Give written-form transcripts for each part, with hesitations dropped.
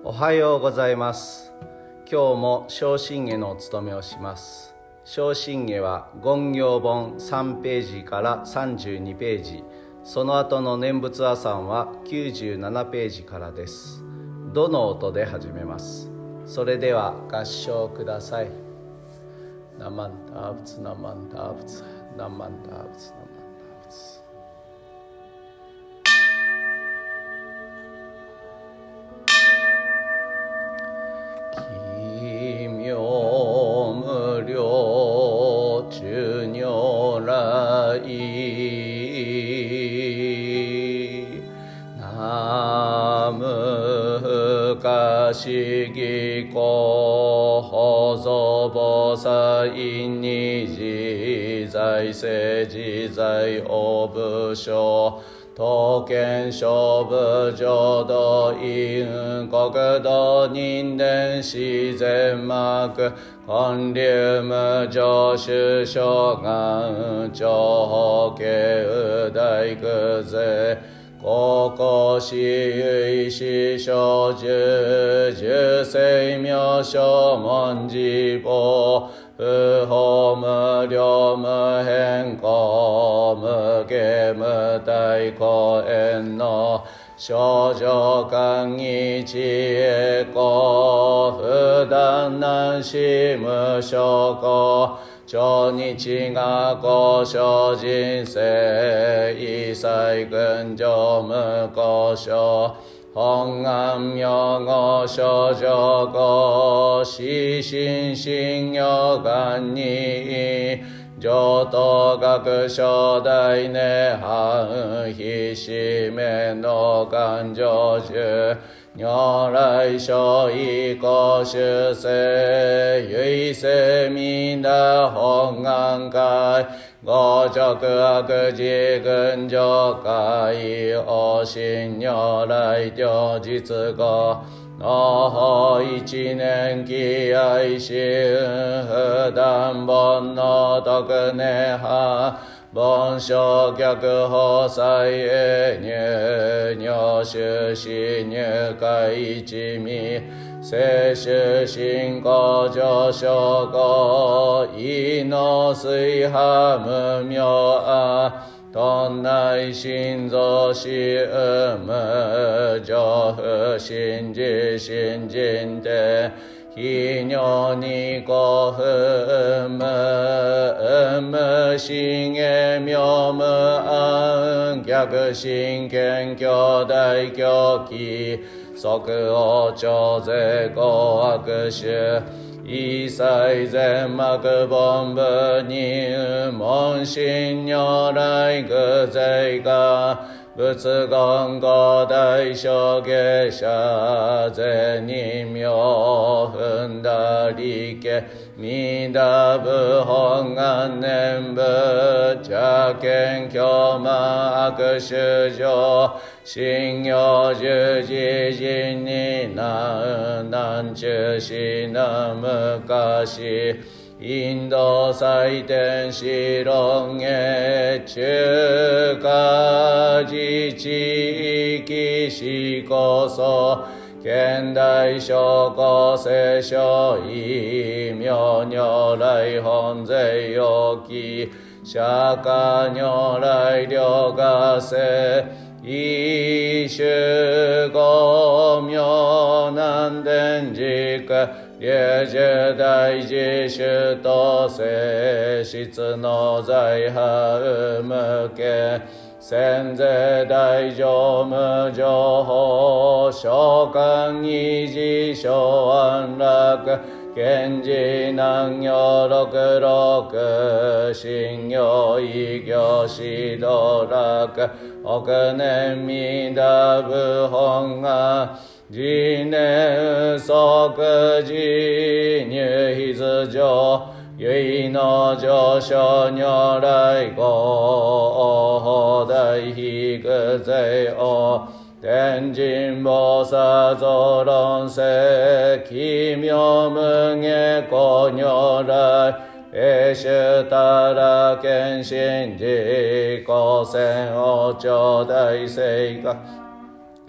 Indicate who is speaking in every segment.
Speaker 1: おはようございます。今日も小心下のお務めをします。小心下は言行本3ページから32ページ、その後の念仏阿三は97ページからです。どの音で始めます。それでは合唱ください。ナマンタアブツナマンタアブツナマンタアブツナマンタアブツ。奇妙無量寿如来南無不可思議光法蔵菩薩因に自在世自在応武将刀剣勝負浄土因国土人伝自然幕建立無常守諸願長法慶大空税高校私有師小十十世名称文字法不法無量無変更無下無体公縁の少女間義知恵公不断難し無証拠超日が交渉人生一切群上無交渉本願名号少女語死心信用願に上等学初代涅槃非死命の願成就如来所以公主世唯世皆本願会五直悪事群上会王神如来両実語の法一年期愛心不断本の徳涅槃凡所逆法祭永入入手死入会一味聖主信仰上昇後異の水波無明あ頓内心臓死有無上不信じ信心で非尿に古不無心へ妙無安逆心見兄弟狂気即応徴税合悪種一切全幕本部に門心如来具税が仏言五大小下者税人名踏んだ理家弥陀部本願念部邪見狂慢悪衆上信用十字人に難中死な昔インド祭典四論へ中華自治域四こそ現代諸公聖書異名如来本税要記釈迦如来両合世一種五名南伝軸霊樹大自主と性質の財波無形先税大乗無情報召喚二次小安楽賢治南行六六信行異行指導楽億年弥陀部本願自念即自入筆上唯の上昇如来語大非具税王天神菩薩増論世奇妙無下光如来永州たら見信自己戦王朝大聖が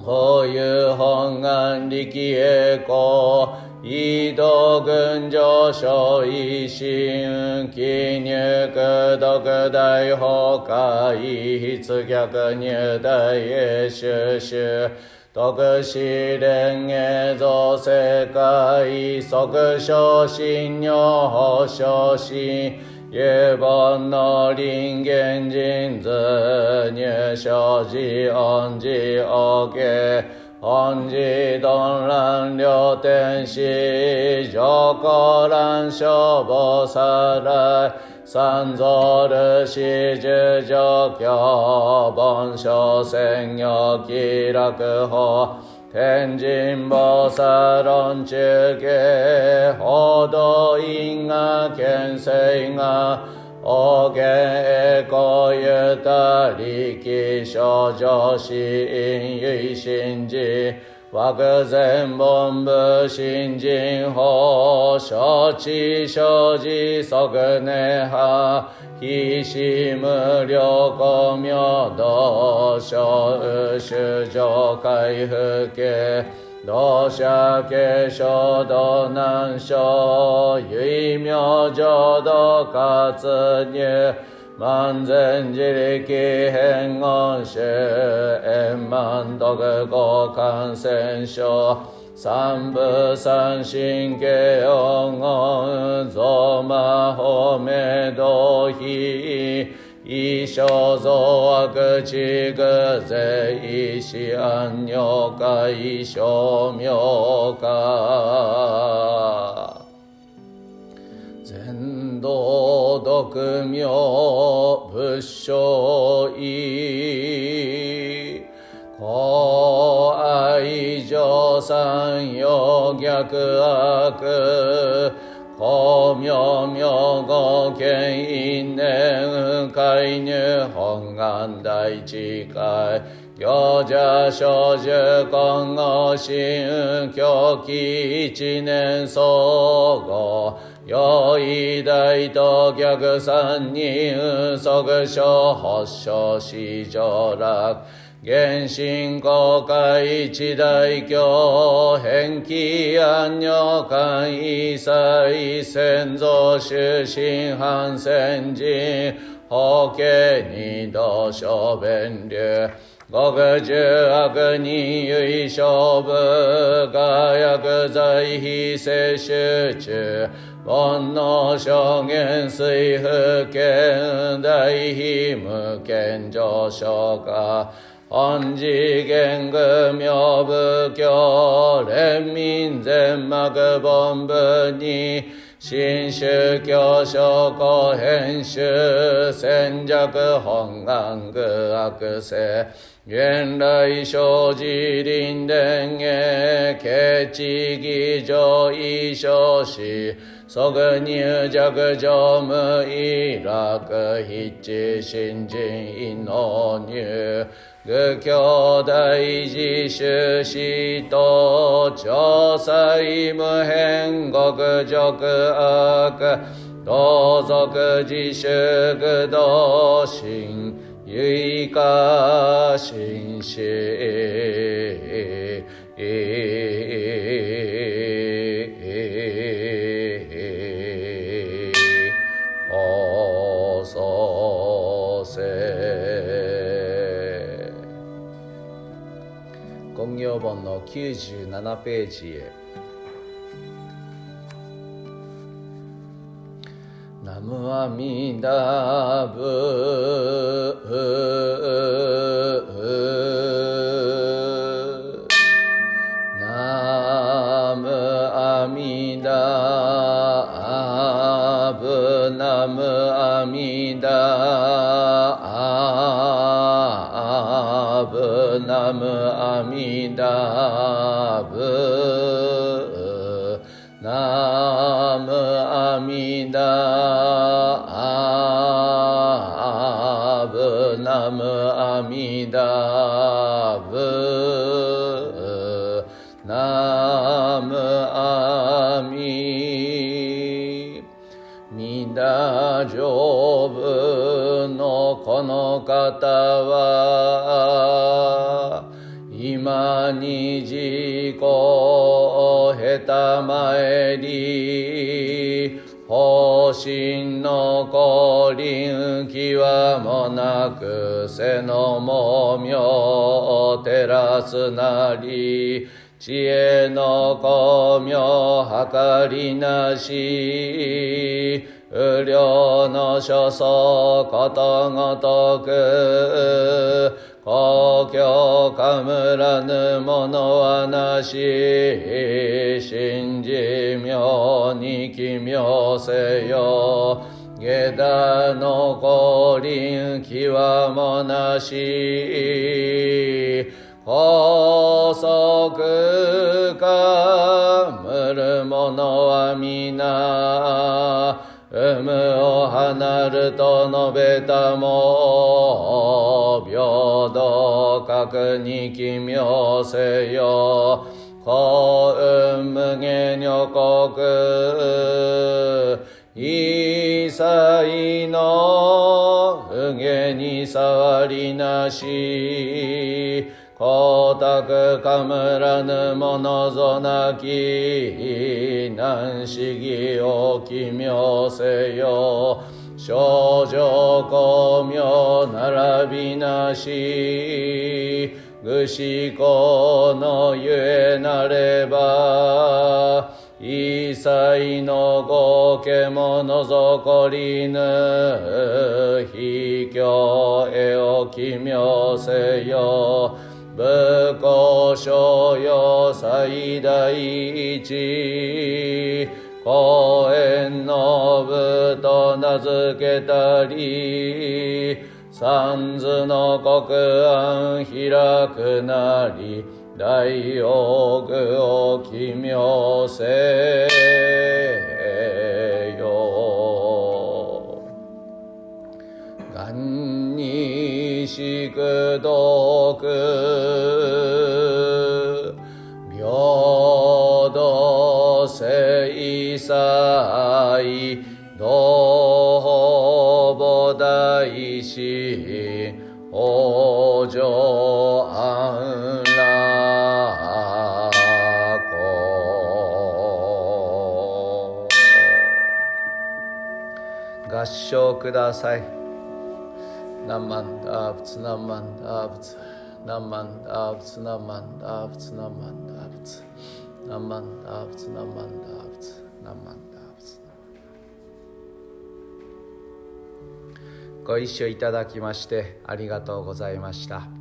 Speaker 1: 法有本願力栄光異道群上昇維新記入独大法界筆逆入大へ収集徳司連営造世界即昇進如法昇進有本の人間人図入生寺恩寺王家恩寺鈍乱両天使上皇乱消防さらい三蔵る始十上教凡所宣行気楽法天神菩薩論中継報道因果見性が王言栄光ゆたりき少女死因唯心寺枠前本部新人法承知生じ即根派非死無量光明道小修上回復系同社継承道難所唯名浄土活入万全自力変言種円満徳合感染症三部三神経音音増魔法明道非異生増悪地具税異死安尿界消妙化全道独妙仏性意公愛上三陽逆悪公明明語見因縁介入本願大智慧行者少女今後心狂気一年総合用意大と逆三人即所発症死上楽原神公開一大教返帰安女官異彩先祖終身反戦人法家二道小弁流極重悪人唯勝負が薬剤非摂取中煩悩証言水不見大非無見上昇化本次元具妙仏教連民全幕本部に新宗教諸公編集戦弱本願具悪性原来生じ臨伝へケチ義上異生死即入弱上無意楽筆致新人異能入愚教大事修士と調裁無変極辱悪同族自粛愚道心唯化心死高祖世金行本の97ページへ。ナムアミダブナムアミダブナムアミダブナムアミダブナムアミダブナムアミダブナムアミミダ上部のこの方は今に自己へたまえり方針の降臨際もなく背のもみを照らすなり知恵の功名計りなし無量の所相ことごとく公共かむらぬものはなし信じ妙に奇妙せよ下駄の降臨際もなし高速かむるものは皆有無を離ると述べたも平等格に奇妙せよ幸運無限女国一切の無限に触りなし光沢かむらぬものぞなき難思議を奇妙せよ少女光明並びなし愚思考のゆえなれば一切の合計も除こりぬ非教へを奇妙せよ仏公所要最大一公園の部と名付けたり三途の国安開くなり大用具を奇妙せよ願に宿読平等聖祭同母大師往生安楽合唱ください。何万打仏何万打仏何万打仏何万打仏何万打仏何万打仏何万打仏何万打仏ご一緒いただきましてありがとうございました。